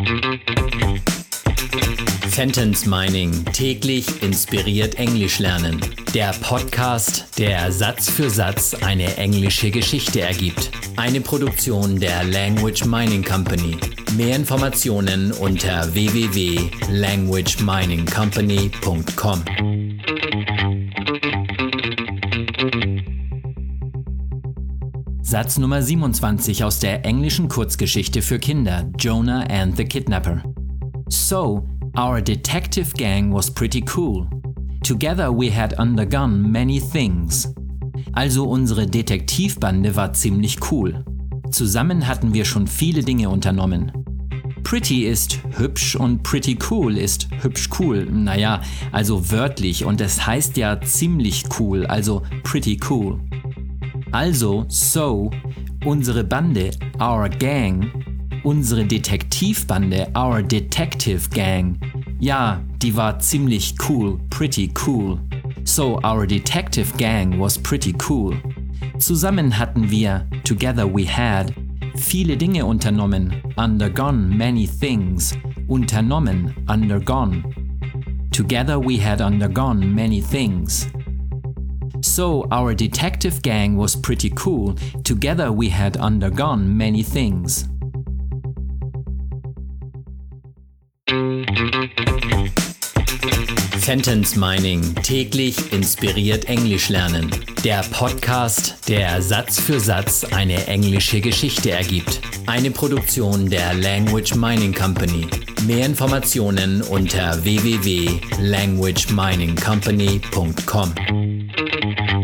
Sentence Mining. Täglich inspiriert Englisch lernen. Der Podcast, der Satz für Satz eine englische Geschichte ergibt. Eine Produktion der Language Mining Company. Mehr Informationen unter www.languageminingcompany.com. Satz Nummer 27 aus der englischen Kurzgeschichte für Kinder Jonah and the Kidnapper. So, our detective gang was pretty cool. Together we had undergone many things. Also unsere Detektivbande war ziemlich cool. Zusammen hatten wir schon viele Dinge unternommen. Pretty ist hübsch und pretty cool ist hübsch cool. Naja, also wörtlich, und es heißt ja ziemlich cool, also pretty cool. Also, so, unsere Bande, our gang, unsere Detektivbande, our detective gang, ja, die war ziemlich cool, pretty cool. So, our detective gang was pretty cool. Zusammen hatten wir, together we had, viele Dinge unternommen, undergone many things, unternommen, undergone. Together we had undergone many things. So, our detective gang was pretty cool. Together we had undergone many things. Sentence Mining. Täglich inspiriert Englisch lernen. Der Podcast, der Satz für Satz eine englische Geschichte ergibt. Eine Produktion der Language Mining Company. Mehr Informationen unter www.languageminingcompany.com.